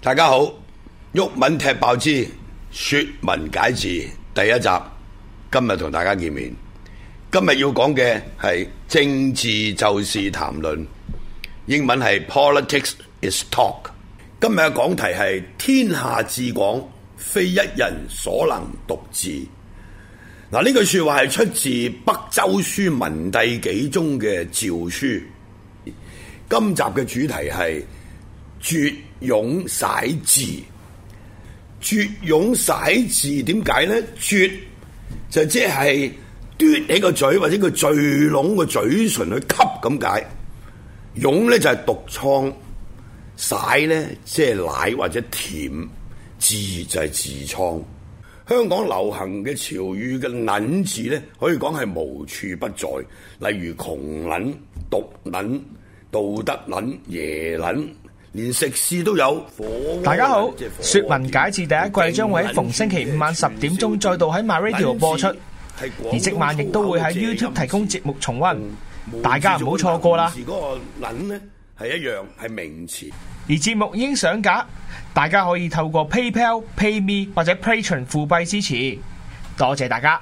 大家好，毓民踢爆之說文解字第一集，今日同大家見面。今日要講嘅係政治就是談論，英文係 Politics is Talk。今日嘅講題係天下至廣，非一人所能獨治。嗱，呢句說話係出自北周書文帝紀中嘅詔書。今集嘅主題係絕涌徙字。絕涌徙字點解呢？絕就即係嘟起個嘴或者個聚攏個嘴唇去吸咁解。涌呢就係毒瘡，徙呢即係奶或者甜，痔就係痔瘡。香港流行嘅潮語嘅撚字呢，可以講係無處不在，例如窮撚、毒撚、道德撚、耶撚，連食肆都有。 大家好，說文解字第一季將會喺逢星期五晚10點鐘再度喺 MyRadio 播出，而即晚亦都會喺 YouTube 提供節目重溫，大家唔好錯過啦。 嗰個撚呢係一樣係名詞， 而節目已經上架，大家可以透過 PayPal、PayMe 或者 Patreon 付幣支持，多謝大家。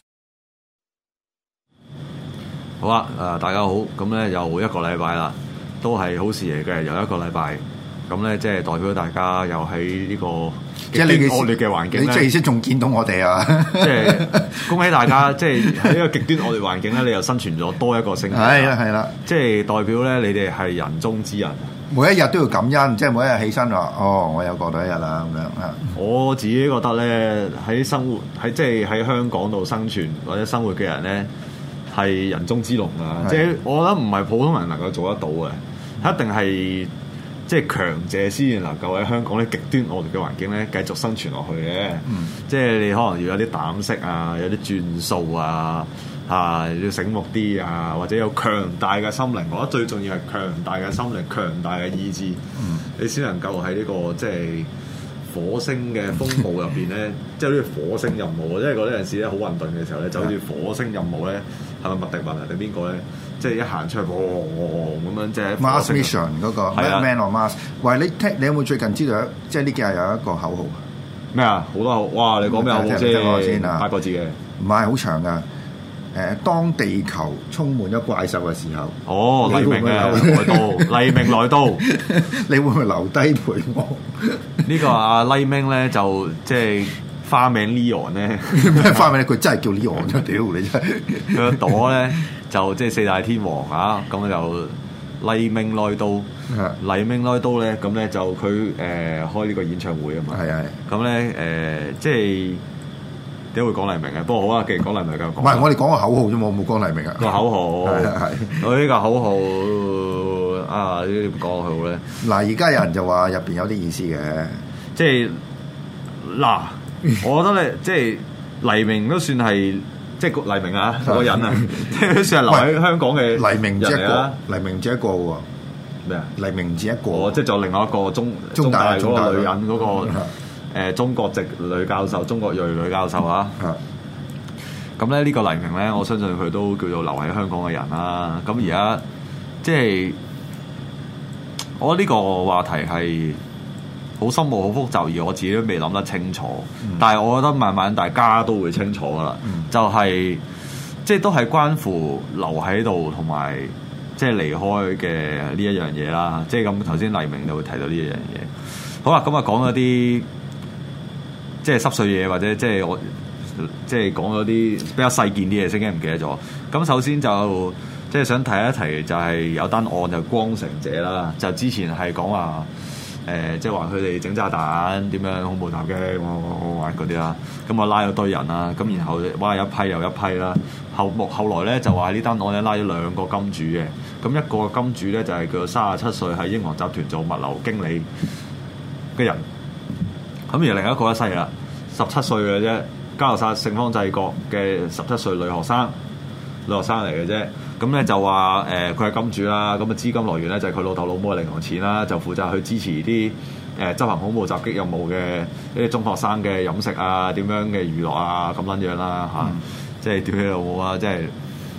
好啊，大家好，咁咧又一個禮拜啦，都係好事嚟嘅，又一個禮拜，咁咧即係代表大家又喺呢個極端惡劣嘅環境咧， 你即係意思仲見到我哋啊？ 即係恭喜大家，即係喺呢個極端惡劣環境咧，你又生存咗多一個星期， 係啦，即係代表咧你哋係人中之人， 每一日都要感恩，即係每一日起身話哦，我有過到一日啦咁樣啊。 我自己覺得咧，喺生活即係喺香港度生存或者生活嘅人咧，係人中之龍啊！即係我覺得唔係普通人能夠做得到嘅，一定係即係強者先至能夠喺香港咧極端惡劣嘅環境咧繼續生存落去嘅。即係你可能要有啲膽識啊，有啲轉數啊，要醒目啲啊，或者有強大嘅心靈。我覺得最重要係強大嘅心靈、強大嘅意志，你先能夠喺呢個即係火星嘅風暴入邊咧，即係好似火星任務，即係嗰陣時咧好混沌嘅時候咧，就好似火星任務咧，係咪麥迪文定邊個咧？即係一行出去，咁樣即係 Mars Mission 嗰個 Man on Mars。喂，你有冇最近知道即係呢幾日有一個口號？ 咩啊？好多口號！哇！你講咩口號先？8個字嘅， 唔係好長噶。當地球充滿咗怪獸嘅時候， 黎明啊來到，黎明來到， 你會唔會留低陪我？ 呢個阿黎明咧就即係花名 Leon 咧， 咩花名咧？佢真係叫 Leon 啫！屌你真係， 佢個朵咧就即係四大天王啊！咁就黎明來到，黎明來到咧，咁咧就佢開呢個演唱會啊嘛， 係咁咧即係。點會講黎明嘅？不過好啊，既然講黎明就講。 唔係，我哋講個口號啫嘛，我冇講黎明啊。 個口號係， 我呢個口號啊，呢點講好咧？ 嗱，而家有人就話入邊有啲意思嘅， 即係嗱，我覺得咧，即係黎明都算係，即係黎明啊個人啊，即係都算係留喺香港嘅黎明只一個，黎明只一個喎。 咩啊？ 黎明只一個， 即係仲有另外一個中大嗰個女人嗰個。中國籍女教授，中國裔女教授啊，咁咧呢個黎明咧，我相信佢都叫做留喺香港嘅人啦。咁而家即係我覺得呢個話題係好深奧、好複雜，而我自己都未諗得清楚。但係我覺得慢慢大家都會清楚噶啦，就係即係都係關乎留喺度同埋即係離開嘅呢一樣嘢啦。即係咁頭先黎明就會提到呢一樣嘢。好啦，咁啊講咗啲。即係濕碎嘢，或者即係我即係講咗啲比較細件啲嘢，先驚唔記得咗。咁首先就即係想提一提，就係有單案就光城者啦。就之前係講話即係話佢哋整炸彈點樣恐怖襲擊，我嗰啲啦。咁我拉咗堆人啦，咁然後哇一批又一批啦。後來咧就話呢單案咧拉咗2個金主嘅。咁一個金主咧就係佢37歲喺英皇集團做物流經理嘅人。咁而另一個一世啦，17歲嘅啫，加拿大聖方濟各嘅17歲女學生嚟嘅啫。咁咧就話佢係金主啦，咁啊資金來源咧就係佢老豆老母嘅零用錢啦，就負責去支持啲執行恐怖襲擊任務嘅呢啲中學生嘅飲食啊，點樣嘅娛樂啊咁撚樣啦嚇，即係屌你老母啊，即係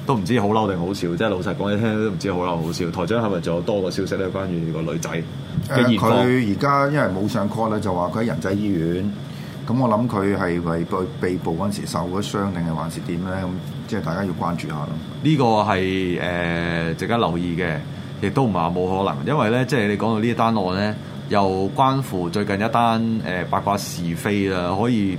都唔知好嬲定好笑，即係老實講，你聽都唔知好嬲好笑。台長係咪仲有多個消息咧？關於個女仔嘅現況？ 佢而家因為冇上 call 咧，就話佢喺仁濟醫院。咁我諗佢係為被捕嗰陣時受咗傷定係還是點咧？咁即係大家要關注下咯。 呢個係值得留意嘅，亦都唔係話冇可能，因為咧即係你講到呢一單案咧，又關乎最近一單八卦是非啦，可以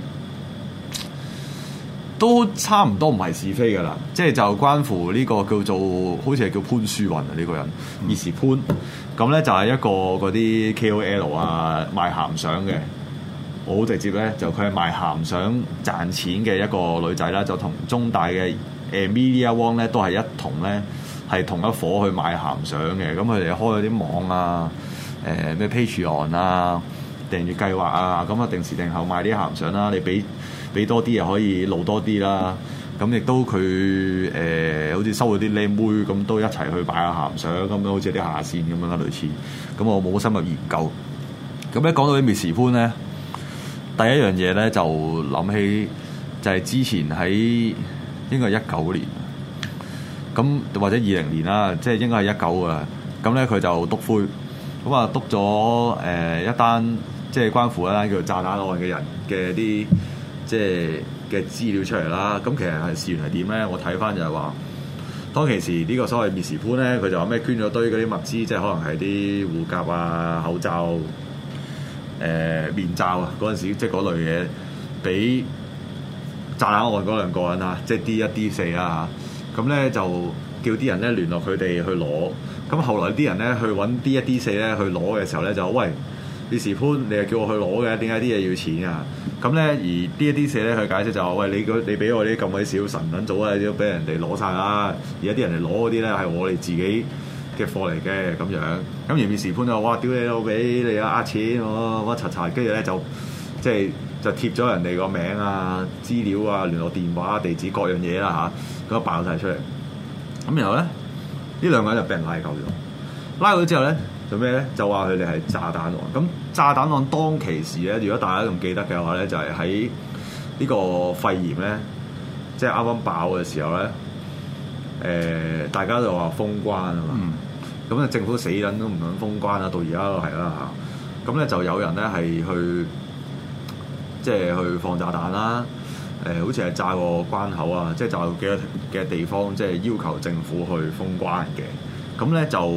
都差唔多唔係是非噶啦，即係就關乎呢個叫做好似係叫潘書雲啊呢個人，Miss潘，咁咧就係一個嗰啲 KOL 啊賣鹹相嘅。我好直接咧，就佢係賣鹹相賺錢嘅一個女仔啦，就同中大嘅Media One 咧都係一同咧係同一伙去賣鹹相嘅。咁佢哋開咗啲網啊，咩 Patreon 啊、訂閱計劃啊，咁啊定時定候賣啲鹹相啦。你俾多啲又可以露多啲啦。咁亦都佢好似收咗啲靚妹咁，都一齊去擺下鹹相咁樣，好似啲下線咁樣啦，類似。咁我冇深入研究。咁咧講到啲 Miss 潘咧。第一樣嘢咧就諗起就係之前喺應該係19年，咁或者20年啦，即係應該係19啊。咁咧佢就篤灰，咁啊篤咗一單即係關乎一單叫做炸彈案嘅人嘅啲即係嘅資料出嚟啦。咁其實係事源係點咧？我睇翻就係話，當其時呢個所謂 Miss 潘咧，佢就話咩捐咗堆嗰啲物資，即係可能係啲護甲啊、口罩。面罩啊，嗰陣時即係嗰類嘢，俾炸彈案嗰兩個人啊，即係 D1、D4啊，咁咧就叫啲人咧聯絡佢哋去攞。咁後來啲人咧去揾 D1、D4咧去攞嘅時候咧就喂，Miss潘，你係叫我去攞嘅，點解啲嘢要錢啊？咁咧而 D1、D4咧佢解釋就話喂，你俾我啲咁鬼少神撚組啊，都俾人哋攞晒啦。而家啲人嚟攞嗰啲咧係我哋自己嘅貨嚟嘅咁樣，咁而 Miss 潘就哇屌你老味，你啊呃錢我乜柒柒，跟住咧就即係就貼咗人哋個名啊、資料啊、聯絡電話、地址各樣嘢啦嚇，咁爆晒出嚟。咁然後咧呢兩個人就俾人拉鳩咗，拉咗之後咧做咩咧？就話佢哋係炸彈案。咁炸彈案當其時咧，如果大家仲記得嘅話咧，就係喺呢個肺炎咧，即係啱啱爆嘅時候咧，大家就話封關啊嘛。咁啊，政府死人都唔肯封關啦，到而家都係啦嚇。咁咧就有人咧係去，即係去放炸彈啦。好似係炸個關口啊，即係炸幾多嘅地方，即係要求政府去封關嘅。咁咧就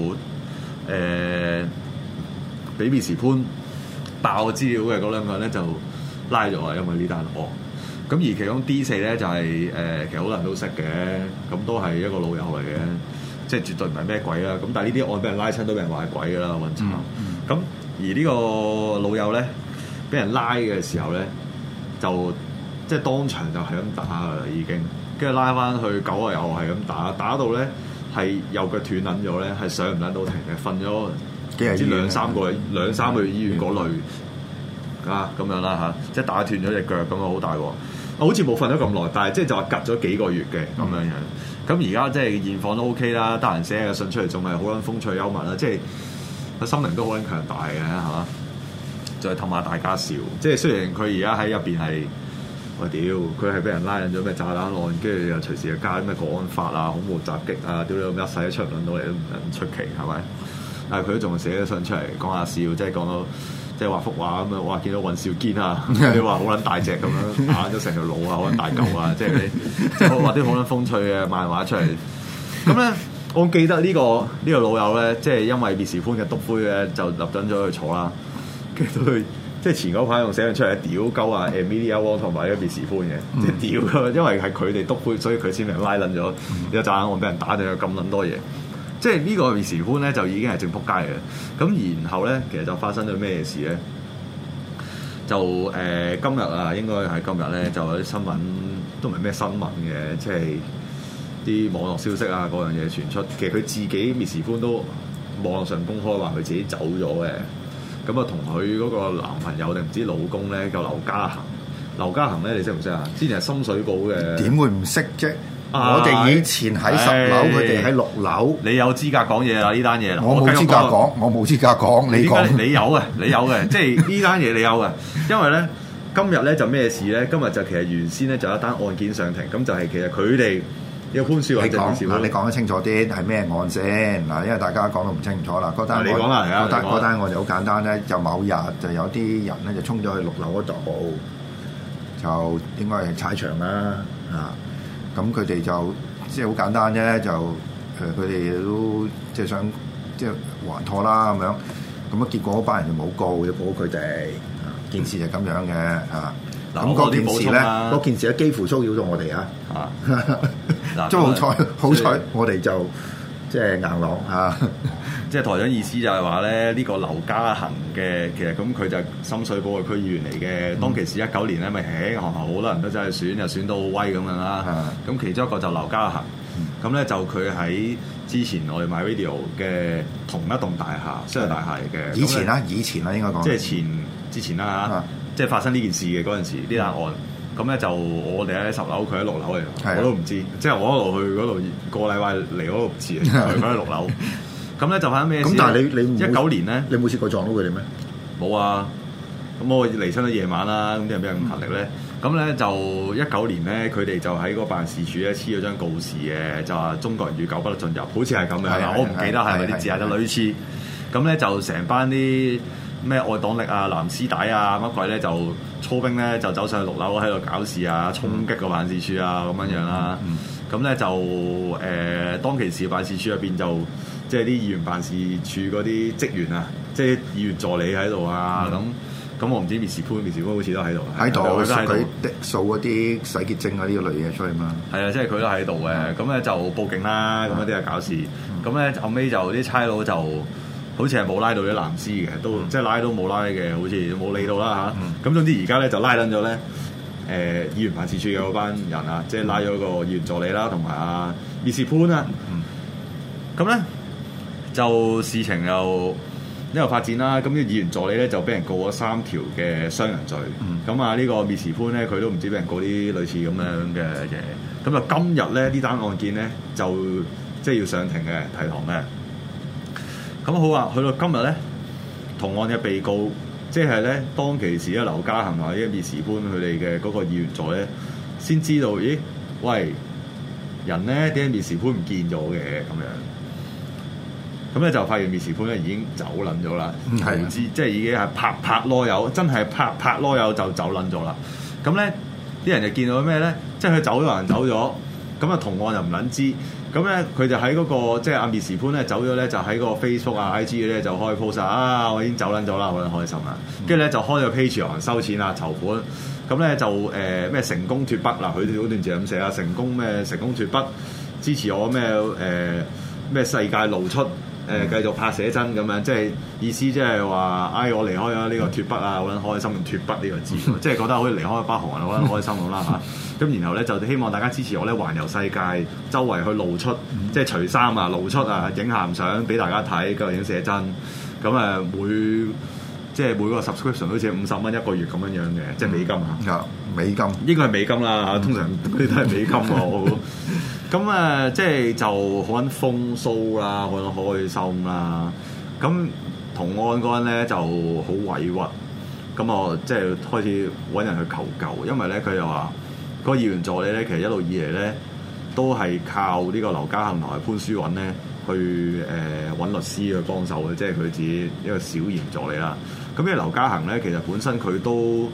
俾 Miss 潘爆資料嘅嗰兩個人咧就拉咗啊，因為呢單案。咁而其中 D4 咧就係其實好多人都識嘅，咁都係一個老友嚟嘅。即係絕對唔係咩鬼啦，咁但係呢啲案俾人拉親都俾人話係鬼㗎啦，混炒。咁而呢個老友咧，俾人拉嘅時候咧，就即係當場就係咁打㗎啦，已經。跟住拉翻去狗啊，又係咁打，打到咧係右腳斷撚咗咧，係上唔撚到庭嘅，瞓咗唔知兩三個月醫院嗰類啊咁樣啦嚇，即係打斷咗隻腳咁啊，好大鑊。好似冇瞓咗咁耐，但係即係就話隔咗幾個月嘅咁樣樣。咁而家即係現況都 OK 啦，得閒寫個信出嚟，仲係好撚風趣幽默啦，即係個心靈都好撚強大嘅，係嘛？就係氹下大家笑。即係雖然佢而家喺入邊係，我屌佢係俾人拉引咗咩炸彈案，跟住又隨時又加啲咩國安法啊、恐怖襲擊啊，屌你咁一世都出唔到嚟都唔出奇，係咪？但係佢都仲寫咗信出嚟講下笑，即係講到。即係畫幅畫咁樣，哇！見到尹兆堅啊，你話好撚大隻咁樣打咗成條腦啊，好撚大嚿啊！即係你即係畫啲好撚風趣嘅漫畫出嚟。咁咧，我記得呢個老友咧，即係因為 Miss 潘嘅篤灰咧，就立等咗去坐啦。跟住到佢即係前嗰排仲寫咗出嚟屌鳩啊 Amelia Wong 同埋呢個 Miss 潘嘅，即係屌㗎，因為係佢哋篤灰，所以佢先俾人拉撚咗。有炸彈案俾人打咗咁撚多嘢。即係呢個 Miss 潘咧就已經係正仆街嘅，咁然後咧其實就發生咗咩事咧？就今日啊，應該係今日咧就有啲新聞，都唔係咩新聞嘅，即係啲網絡消息啊嗰樣嘢傳出。其實佢自己 Miss 潘都網上公開話佢自己走咗嘅，咁啊同佢嗰個男朋友定唔知老公咧叫劉家恒。劉家恒咧你識唔識啊？之前係深水埗嘅， 點會唔識啫？我哋以前喺10樓，佢哋喺6樓。 你有資格講嘢啦，呢單嘢啦。 我冇資格講，我冇資格講。你講， 你有嘅，即係呢單嘢你有嘅。因為咧，今日咧就咩事咧？今日就其實原先咧就有一單案件上庭，咁就係其實佢哋呢個潘書雲政治盤。 你講得清楚啲係咩案先嗱？因為大家講到唔清楚啦。嗰單你講啦， 嗰單案就好簡單咧，就某日就有啲人咧就衝咗去6樓嗰度，就應該係踩場啦咁佢哋就即係好簡單啫，就佢哋都即係想即係還拖啦咁樣。咁結果嗰班人就冇告，就保佢哋。件事就咁樣嘅咁嗰件事咧，嗰件事咧幾乎騷擾到我哋都好彩，我哋就即係硬朗即係台長意思就係話咧，呢個劉家恒嘅其實咁佢就深水埗嘅區議員嚟嘅。當其時19年咧，咪學校好多人都真係選，又選到好威咁樣啦。咁其中一個就劉家恒，咁咧就佢喺之前我哋 MyRadio 嘅同一棟大廈，商業大廈嚟嘅。 以前啦應該講， 即係之前啦即係發生呢件事嘅嗰陣時，呢單案。咁咧就我哋喺10樓，佢喺6樓嚟，我都唔知。即係我一路去嗰度個禮拜嚟嗰度唔知，佢喺6樓。咁咧就發生咩事？ 咁但係你 19年咧， 你冇試過撞到佢哋咩？ 冇啊！咁我離親咗夜晚啦，咁啲人比較咁勤力咧。咁咧就19年咧，佢哋就喺個辦事處咧黐咗張告示嘅，就話中國人與狗不得進入，好似係咁樣。我唔記得係咪啲字啊，就類似。咁咧就成班啲咩愛黨力啊、藍絲帶啊乜鬼咧，就操兵咧就走上去6樓喺度搞事啊，衝擊個辦事處啊咁樣樣啦。咁咧就當其時辦事處入邊就即係啲議員辦事處嗰啲職員啊，即係議員助理喺度啊咁我唔知滅時潘好似都喺度， 佢掃嗰啲洗潔精啊呢個類嘢出去嘛。 係啊，即係佢都喺度嘅。咁咧就報警啦，咁一啲係搞事。咁咧後尾就啲差佬就好似係冇拉到啲藍絲嘅，都即係拉都冇拉嘅，好似冇理到啦嚇。咁總之而家咧就拉撚咗咧議員辦事處嘅嗰班人啊，即係拉咗個議員助理啦，同埋阿滅時潘啊。咁咧就事情又呢個發展啦，咁呢個議員助理咧就俾人告咗3條嘅傷人罪。咁呢個滅時潘咧，佢都唔知俾人告啲類似咁樣嘅嘢。咁就今日咧呢單案件咧就即係要上庭嘅提堂嘅。咁好啊，去到今日咧，同案嘅被告即係咧當其時咧劉家恒或者滅時潘佢哋嘅嗰個議員助咧，先知道咦喂人咧點解滅時潘唔見咗嘅咁樣。咁咧就發現滅時潘咧已經走撚咗啦，唔知即係已經係拍囉柚，真係拍囉柚就走撚咗啦。咁咧啲人就見到咩咧？即係佢走咗人走咗，咁同案又唔撚知。咁咧佢就喺嗰個即係阿滅時潘咧走咗咧，就喺個 Facebook 啊 IG 咧就開 post 我已經走撚咗啦，好撚開心啦。跟住咧就開咗 Patreon 收錢啊籌款。咁咧就咩成功脫北嗱，佢嗰段字咁寫啊，成功脫北，支持我咩世界露出。繼續拍寫真咁樣，即係意思即係話，我離開咗呢個脫北啊，好撚開心，脫北呢個字，即係覺得好似離開北韓啊，好撚開心咁啦嚇。咁然後咧就希望大家支持我咧，環遊世界，周圍去露出，即係除衫啊，露出啊，影鹹相俾大家睇，繼續影寫真。咁每個 subscription 好似50蚊一個月咁樣嘅，即係美金嚇。 美金應該係美金啦嚇，通常嗰啲都係美金喎。咁即係就好撚風騷啦，好撚開心啦。咁同案嗰陣咧就好委屈，咁我即係開始揾人去求救，因為咧佢又話嗰個議員助理咧，其實一路以嚟咧都係靠呢個劉家恒同埋潘書雲咧去揾律師去幫手嘅，即係佢自己一個小議員助理啦。咁因為劉家恒咧，其實本身佢都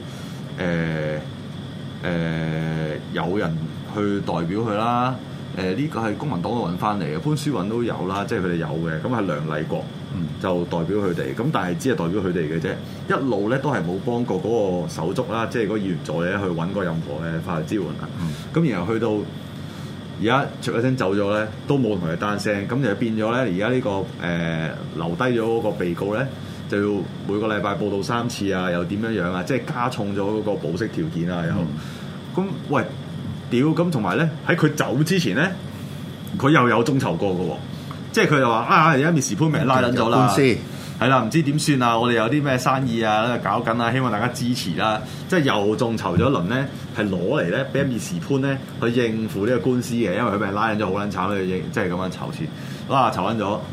有人去代表佢啦。呢個係公民黨度揾翻嚟嘅，潘書雲都有啦，即係佢哋有嘅。咁係梁麗國就代表佢哋，咁但係只係代表佢哋嘅啫。一路咧都係冇幫過嗰個手足啦，即係嗰個議員助理去揾過任何嘅法律支援啊。咁然後去到而家出一聲走咗咧，都冇同佢單聲，咁就變咗咧。而家呢個留低咗嗰個被告咧，就要每個禮拜報到3次啊，又點樣啊？即係加重咗嗰個保釋條件啊，又咁喂。屌咁，同埋咧喺佢走之前咧，佢又有眾籌過嘅喎，即係佢就話而家滅時潘俾人拉撚咗啦，係啦，唔知點算啊？我哋有啲咩生意啊搞緊啊，希望大家支持啦。即係又眾籌咗一輪咧，係攞嚟咧俾滅時潘咧去應付呢個官司嘅，因為佢俾人拉撚咗好撚慘，即係咁樣籌錢，籌撚咗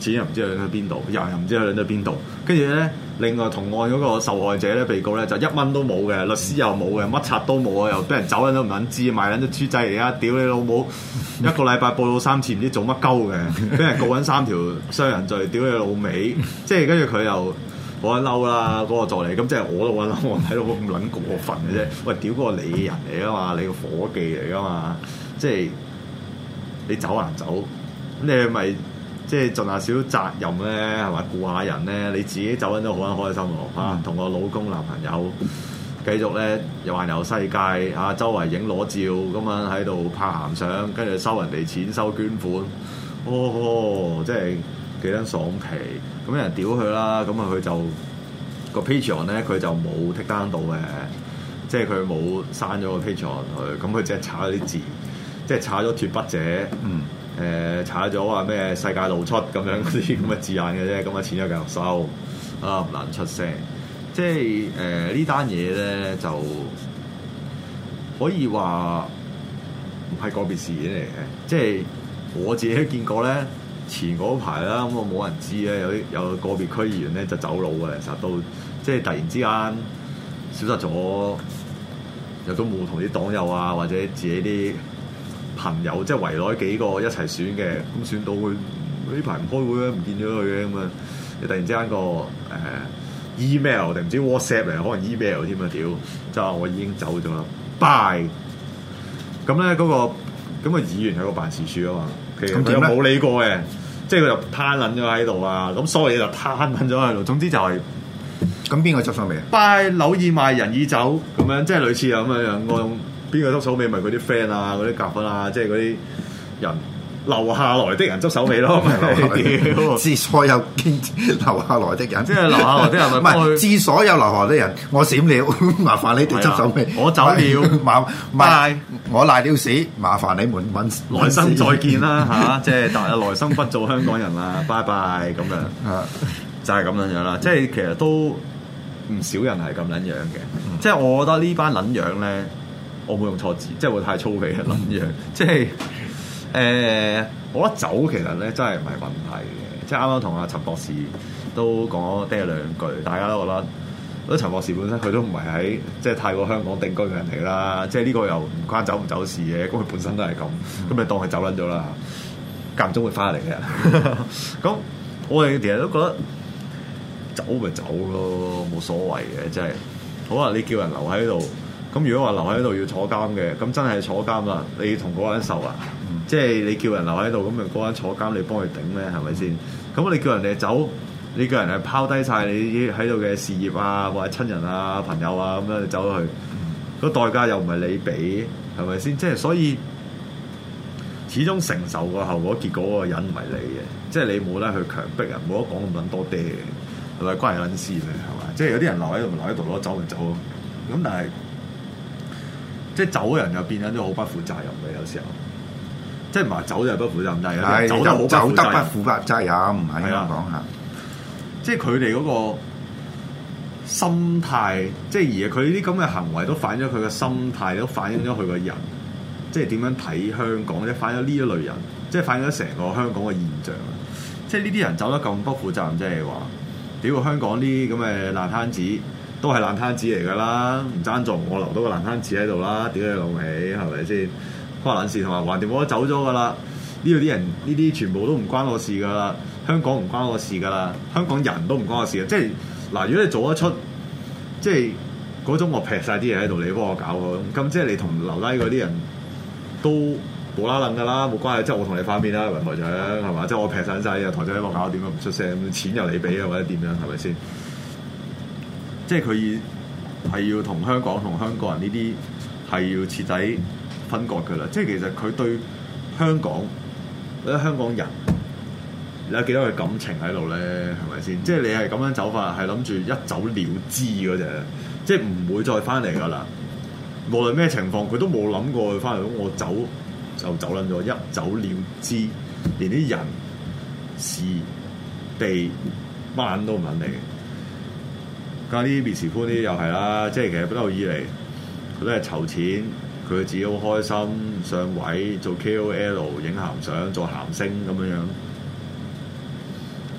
錢又唔知去咗邊度，人又唔知去咗邊度。跟住咧，另外同案嗰個受害者咧，被告咧就1蚊都冇嘅，律師又冇嘅，乜柒都冇啊，又俾人走人都唔撚知，賣撚咗豬仔嚟啊！屌你老母，一個禮拜報到3次，唔知做乜鳩嘅，俾人告緊3條傷人罪，屌你老味！即係跟住佢又好撚嬲啦，嗰個助理，咁即係我都好撚嬲，我睇到咁撚過分嘅啫。喂，屌嗰個你人嚟噶嘛，你個伙計嚟噶嘛，即係你走還走，咁你係咪？即係盡下少責任咧，係咪顧下人咧？你自己走緊都好撚開心喎嚇，同個老公男朋友繼續咧又環遊世界嚇，周圍影裸照咁樣喺度拍鹹相，跟住收人哋錢收捐款，即係幾撚爽皮！咁有人屌佢啦，咁啊佢就個 Patreon 咧佢就冇剔單到嘅，即係佢冇刪咗個 Patreon 佢，咁佢只係查咗啲字，即係查咗脫筆者。查咗話咩世界露出咁樣嗰啲咁嘅字眼嘅啫，咁啊錢就繼續收啊，唔難出聲。即係呢單嘢咧就可以話唔係個別事件嚟嘅，即係我自己都見過咧。前嗰排啦，咁我冇人知咧，有個別區議員咧就走佬嘅，其實都即係突然之間消失咗，又都冇同啲黨友啊或者自己啲朋友即係圍內幾個一齊選嘅，咁選到佢呢排唔開會咧，唔見咗佢嘅咁啊！你突然之間個email 定唔知 WhatsApp 嚟，可能 email 添啊！屌，就話我已經走咗啦，bye。咁咧嗰個議員喺個辦事處啊嘛，其實佢又冇理過嘅，即係佢就攤撚咗喺度啊！咁所有嘢就攤撚咗喺度，總之就係咁邊個執手尾啊 ？bye，柳已賣人已走咁樣，即係類似咁樣我用。邊個執手尾咪嗰啲 friend 啊，嗰啲夾分啊，即係嗰啲人留下來的人執手尾咯，咪致所有留下來的人， 即係留下來的人咪幫佢致所有留下來的人，我閃了，麻煩你哋執手尾， 我走了， 拜，我賴了屎，麻煩你們揾來生再見啦嚇，即係來生不做香港人啦，拜拜咁樣，就係咁樣樣啦，即係其實都唔少人係咁撚樣嘅，即係我覺得呢班撚樣咧。我冇用錯字，即係會太粗鄙嘅撚樣。即係我覺得走其實咧真係唔係問題嘅。即係啱啱同阿陳博士都講咗嗲兩句，大家都覺得陳博士本身佢都唔係喺即係泰國香港定居嘅人嚟啦。即係呢個又唔關走唔走事嘅，咁佢本身都係咁，咁你當佢走撚咗啦。間唔中會翻嚟嘅。咁我哋其實都覺得走咪走咯，冇所謂嘅。即係好啊，你叫人留喺度。咁如果話留喺度要坐監嘅，咁真係坐監啦！你同嗰個人受啊，即係你叫人留喺度，咁咪嗰個人坐監，你幫佢頂咩？係咪先？咁你叫人哋走，你叫人係拋低晒你喺度嘅事業啊，或者親人啊、朋友啊咁樣你走咗去，個代價又唔係你俾，係咪先？即係所以，始終承受個後果結果嗰個人唔係你嘅，即係你冇得去強迫人，冇得講咁撚多爹嘅，係咪關人撚事咩？係嘛？即係有啲人留喺度咪留喺度咯，走咪走咯。咁但係。即係走嘅人又變咗都好不負責任嘅，有時候，即係唔係走就係不負責任，但係走得好走得不負責任，唔係咁講嚇。 即係佢哋嗰個心態，即係而佢啲咁嘅行為都反映咗佢嘅心態，都反映咗佢個人，即係點樣睇香港，即係反映咗呢一類人，即係反映咗成個香港嘅現象。即係呢啲人走得咁不負責任，即係話屌香港啲咁嘅爛攤子。都係爛攤子嚟㗎啦，唔爭在我留到個爛攤子喺度啦，屌你老味，係咪先？關撚事同埋橫掂我都走咗㗎啦，呢度啲人呢啲全部都唔關我事㗎啦，香港唔關我事㗎啦，香港人都唔關我事嘅，即係嗱，如果你做得出，即係嗰種我劈晒啲嘢喺度，你幫我搞佢，咁即係你同留低嗰啲人都冇啦楞㗎啦，冇關係，即係我同你反面啦，台長係嘛？即係我劈晒嘢，台長幫我搞掂，唔出聲，錢又你俾啊，或者點樣係咪先？即係佢係要同香港人呢啲係要徹底分割㗎啦。即係其實佢對香港或者香港人你有幾多嘅感情喺度咧？係咪先？即係你係咁樣走法，係諗住一走了之嗰隻，即係唔會再翻嚟㗎啦。無論咩情況，佢都冇諗過翻嚟。咁我走就走撚咗，一走了之，連啲人事地班都唔撚嚟。加啲滅時寬啲又係啦，即係其實不嬲以嚟佢都係籌錢，佢自己好開心上位做 KOL 影鹹相做鹹星咁樣樣，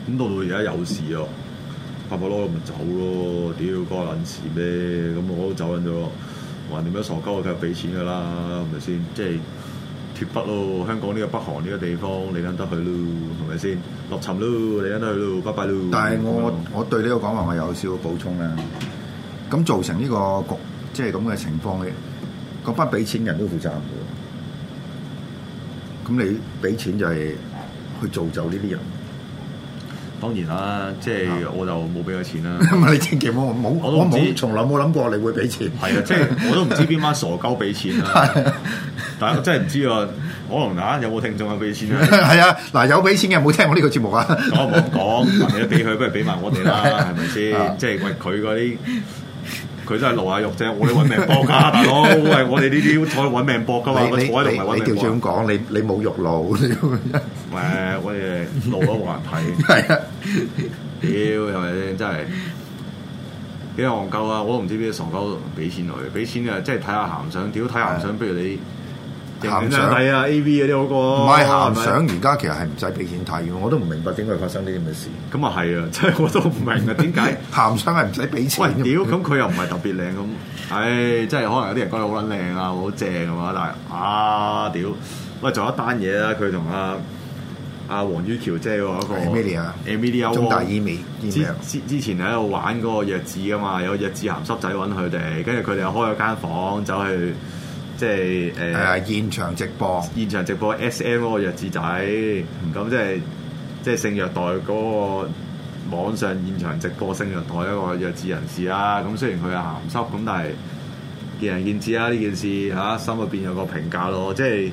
咁到而家有事咯，拍拍攞咪走咯，屌關撚事咩？咁我都走撚咗咯。橫掂乜傻鳩佢係俾錢㗎啦，係咪先？即係脫北咯，香港呢個北韓呢個地方你撚得去咯，係咪先？落沉咯，你撚得去咯，拜拜咯。 但係我對呢個講話我有少少補充啦。咁造成呢個局即係咁嘅情況嘅，嗰班俾錢人都負責任嘅。咁你俾錢就係去造就呢啲人。 當然啦，即係我就冇俾佢錢啦。 咁你千祈冇，我冇從來冇諗過你會俾錢。 係啊，即係我都唔知邊班傻鳩俾錢啦。但係我真係唔知啊，可能有冇聽眾有俾錢啊？ 係啊，嗱有俾錢嘅冇聽我呢個節目啊。 我冇講，你都俾佢，不如俾埋我哋啦，係咪先？即係為佢嗰啲。佢都係露下肉啫，我哋揾命搏㗎，大佬。喂，我哋呢啲坐喺度揾命搏㗎嘛，我坐喺度唔係揾命搏。你調轉咁講，你冇肉露。 喂，我哋露都冇人睇。係啊，屌係咪先？真係幾戇鳩啊！我都唔知邊啲傻鳩俾錢佢，俾錢啊！即係睇下鹹相，屌睇鹹相，不如你。鹹相睇啊 A V 嗰啲好過， 唔係鹹相，而家其實係唔使俾錢睇嘅，我都唔明白點解發生呢啲咁嘅事。 咁啊係啊，真係我都唔明啊，點解鹹相係唔使俾錢？ 喂，屌，咁佢又唔係特別靚咁，唉，真係可能有啲人覺得好撚靚啊，好正啊嘛，但係屌，喂，仲有一單嘢啦，佢同阿黃于橋姐嗰個 Emilia 中大醫美之前喺度玩嗰個弱智㗎嘛，有弱智鹹濕仔揾佢哋，跟住佢哋又開咗間房走去。即係現場直播 SM 嗰個弱智仔，咁即係性虐待嗰個網上現場直播性虐待一個弱智人士啦。咁雖然佢係鹹濕，咁但係見仁見智啦。呢件事嚇心入邊有個評價咯，即係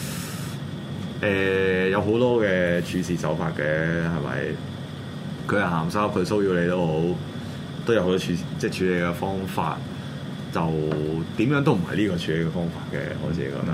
有好多嘅處事手法嘅，係咪？佢係鹹濕，佢騷擾你都好，都有好多處理嘅方法。就點樣都唔係呢個處理嘅方法嘅，我自己覺得。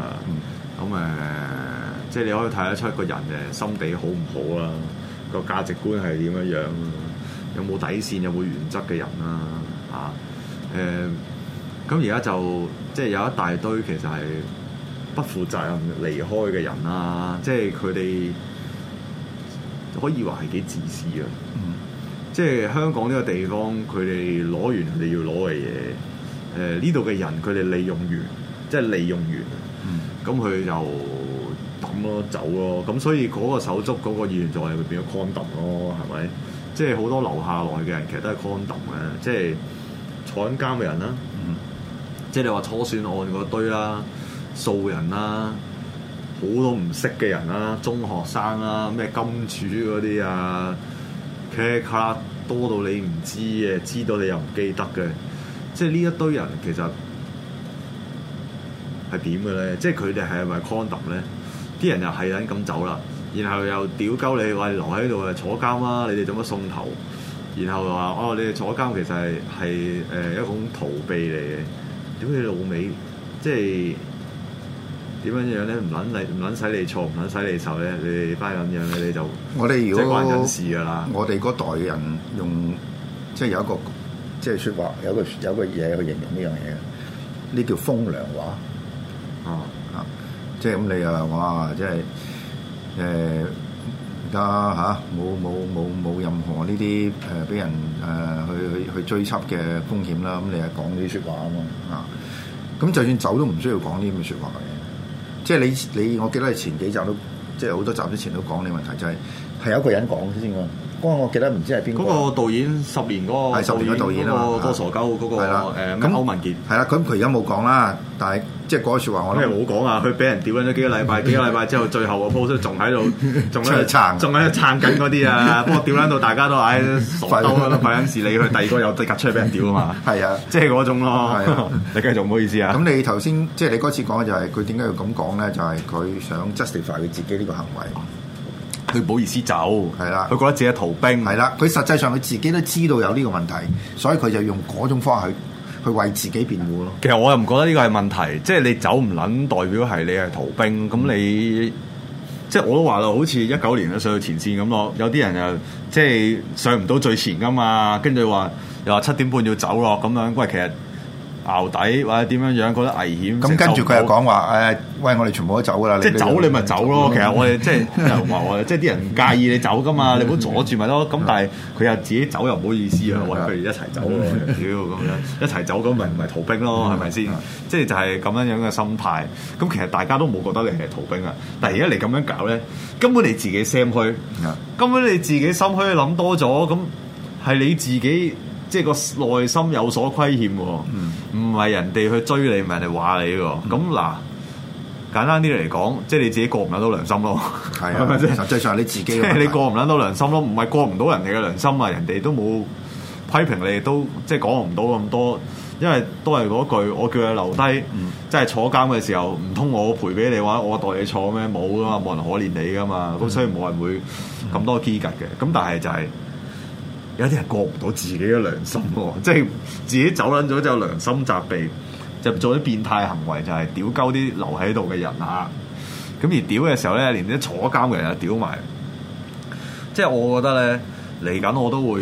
咁即係你可以睇得出個人嘅心地好唔好啦，個價值觀係點樣樣，有冇底線，有冇原則嘅人啦，咁而家就即係有一大堆其實係不負責任離開嘅人啦，即係佢哋可以話係幾自私啊。即係香港呢個地方，佢哋攞完佢哋要攞嘅嘢。呢度嘅人佢哋利用完，即係利用完，咁佢就抌咯走咯，咁所以嗰個手足嗰個議員就係會變咗 condom 咯，係咪？即係好多留下來嘅人其實都係 condom 嘅，即係坐緊監嘅人啦，即係你話初選案嗰堆啦，素人啦，好多唔識嘅人啦，中學生啦，咩金主嗰啲啊 ，K 卡多到你唔知嘅，知道你又唔記得嘅。即係呢一堆人其實係點嘅咧？即係佢哋係咪 condom 咧？啲人又係撚咁走啦，然後又屌鳩你話留喺度啊坐監啦！你哋做乜送頭？然後話哦，你哋坐監其實係一種逃避嚟嘅。屌你老味，即係點樣樣咧？唔撚使你錯，唔撚使你受咧？你哋班咁樣咧，你就我哋如果即係關人事㗎啦。 我哋嗰代人用即係有一個。即係説話有個嘢去形容呢樣嘢，呢叫風涼話。即係咁你又哇，即係而家嚇冇任何呢啲俾人去追緝嘅風險啦。咁你係講呢啲説話啊嘛。咁就算走都唔需要講呢啲咁嘅説話嘅。即係你我記得你前幾集都即係好多集之前都講呢個問題，就係有一個人講先㗎。我記得唔知係邊個？嗰個導演10年嗰個，係10年嘅導演啊！嗰個傻鳩嗰個咁歐文傑係啦。咁佢而家冇講啦，但係即係嗰個説話我都冇講啊！佢俾人屌緊咗幾個禮拜，幾個禮拜之後，最後個 post 仲喺度，仲喺度撐緊嗰啲啊！不過屌撚到大家都唉傻鳩啦，費緊事理佢第二個又即刻出嚟俾人屌啊嘛！係啊，即係嗰種咯。你繼續唔好意思啊！ 咁你頭先即係你嗰次講嘅就係佢點解要咁講咧？就係佢想 justify 佢自己呢個行為。 佢唔好意思走，係啦，佢覺得自己係逃兵， 係啦。佢實際上佢自己都知道有呢個問題，所以佢就用嗰種方法去為自己辯護咯。 其實我又唔覺得呢個係問題，即係你走唔撚代表係你係逃兵，咁你即係我都話啦，好似19年上到前線咁咯。有啲人又即係上唔到最前噶嘛，跟住話又話7點半要走咯咁樣。喂，其實淆底或者點樣樣覺得危險。 咁跟住佢又講話誒，喂，我哋全部都走㗎啦！ 即係走你咪走咯。其實我哋即係又話我哋即係啲人唔介意你走㗎嘛，你唔好阻住咪咯。咁但係佢又自己走又唔好意思啊，喂，佢哋一齊走喎，屌咁樣一齊走咁咪唔係逃兵咯，係咪先？即係就係咁樣樣嘅心態。咁其實大家都冇覺得你係逃兵啊，但係而家你咁樣搞咧，根本你自己心虛，根本你自己心虛諗多咗，咁係你自己。即係個內心有所虧欠喎，唔係人哋去追你，唔係人哋話你喎。咁嗱，簡單啲嚟講，即係你自己過唔撚到良心咯。係啊， 實際上你自己，即係你過唔撚到良心咯，唔係過唔到人哋嘅良心啊！人哋都冇批評你，都即係講唔到咁多，因為都係嗰句，我叫你留低，即係坐監嘅時候，唔通我賠俾你話我代你坐咩？冇噶嘛，冇人可憐你噶嘛。咁所以冇人會咁多機格嘅。咁但係就係。有啲人過唔到自己嘅良心喎，即係自己走撚咗就有良心責備，就做啲變態行為，就係屌鳩啲留喺度嘅人啊！咁而屌嘅時候咧，連啲坐監嘅人又屌埋。即係我覺得咧，嚟緊我都會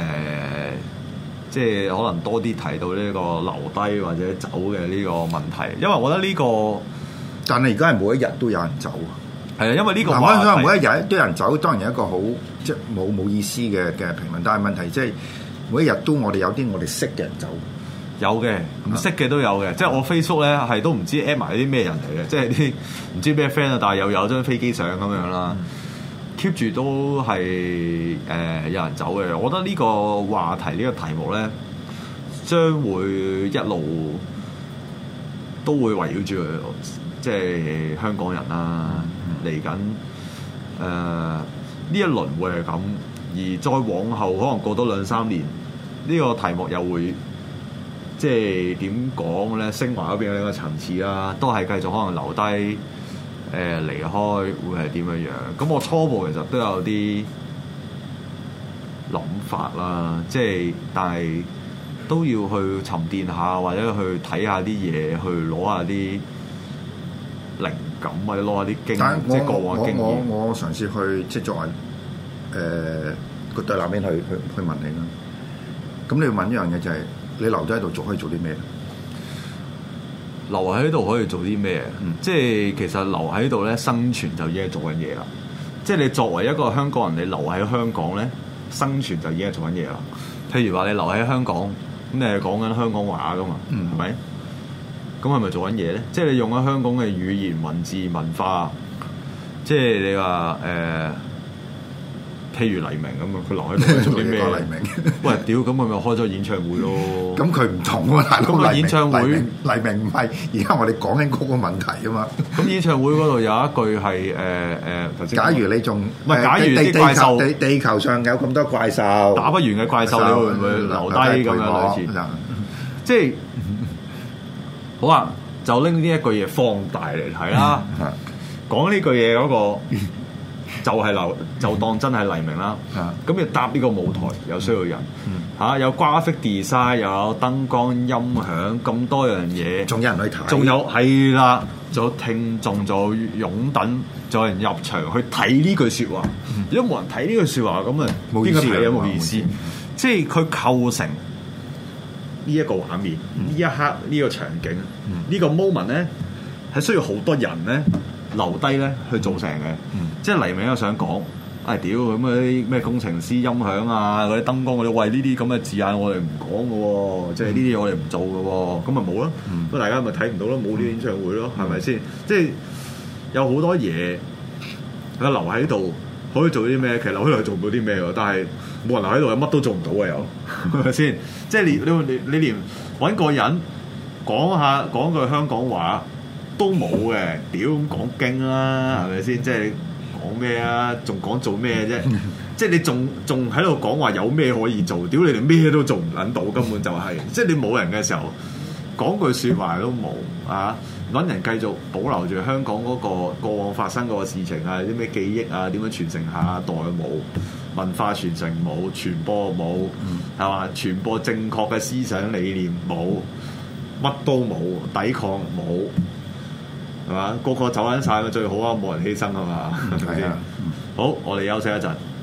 即係可能多啲提到呢個留低或者走嘅呢個問題，因為我覺得呢個， 但係而家係每一日都有人走。 係啊，因為呢個話題， 每一日都有人走，當然有一個好即係冇意思嘅評論。但係問題即係每一日都我哋有啲我哋識嘅人走， 有嘅唔識嘅都有嘅。即係我 Facebook 咧係都唔知 add 埋啲咩人嚟嘅，即係啲唔知咩 friend 啊，但係又有張飛機相咁樣啦，keep 住都係有人走嘅。我覺得呢個話題呢個題目咧，將會一路都會圍繞住即係香港人啦。嚟緊呢一輪會係咁，而再往後可能過多2-3年，呢個題目又會即係點講咧？升華嗰邊有一個層次啦，都係繼續可能留低離開會係點樣樣？咁我初步其實都有啲諗法啦，即係但係都要去沉澱下，或者去睇下啲嘢，去攞下啲靈感或者攞下啲經驗，即係過往經驗。 我嘗試去即係作為個對立面去問你啦。咁你要問一樣嘢就係、是、你留咗喺度可以做啲咩？ 留喺度可以做啲咩？即係其實留喺度咧生存就已經係做緊嘢啦。即係你作為一個香港人，你留喺香港咧生存就已經係做緊嘢啦。譬如話你留喺香港，咁你係講緊香港話噶嘛？係咪？咁係咪做緊嘢咧？即係你用咗香港嘅語言、文字、文化，即係你話譬如黎明咁啊，佢留喺度做啲咩？ 黎明， 喂，屌，咁佢咪開咗演唱會咯？ 咁佢唔同喎，大佬。 咁演唱會， 黎明唔係而家我哋講緊嗰個問題啊嘛。 咁演唱會嗰度有一句係假如你仲唔係，假如啲怪獸地球上有咁多怪獸， 打不完嘅怪獸，你會唔會留低咁樣類似？即係好啊，就拎呢一句嘢放大嚟睇啦。講呢句嘢嗰個。就當真係黎明啦，咁要搭呢個舞台又需要人有 graphic design，又有燈光音響咁多樣嘢， 仲有人去睇， 仲有係啦，仲有聽眾，仲有擁躉，仲有人入場去睇呢句説話。如果冇人睇呢句説話，咁啊邊個睇有冇意思？即係佢構成呢一個畫面，呢一刻呢個場景，呢個 moment 咧係需要好多人咧留低咧去做成嘅。即係黎明又想講，屌咁嗰啲咩工程師音響啊，嗰啲燈光嗰啲，喂呢啲咁嘅字眼我哋唔講嘅喎，即係呢啲嘢我哋唔做嘅喎，咁咪冇咯，咁大家咪睇唔到咯，冇呢啲演唱會咯，係咪先？即係有好多嘢，佢留喺度可以做啲咩？其實留喺度做唔到啲咩喎，但係冇人留喺度，乜都做唔到啊！又係咪先？即係你連揾個人講句香港話都冇嘅，屌咁講經啦，係咪先？即係。講咩啊？仲講做咩啫？即係你仲喺度講話有咩可以做？屌你哋咩都做唔撚到，根本就係、是、即係你冇人嘅時候講句説話都冇啊！揾人繼續保留住香港嗰個過往發生過嘅事情啊，啲咩記憶啊，點樣傳承下一代冇？文化傳承冇，傳播冇，係嘛？傳播正確嘅思想理念冇，乜都冇，抵抗冇。係嘛？個個走緊晒咪最好啊！冇人犧牲啊嘛，係咪先？好，我哋休息一陣。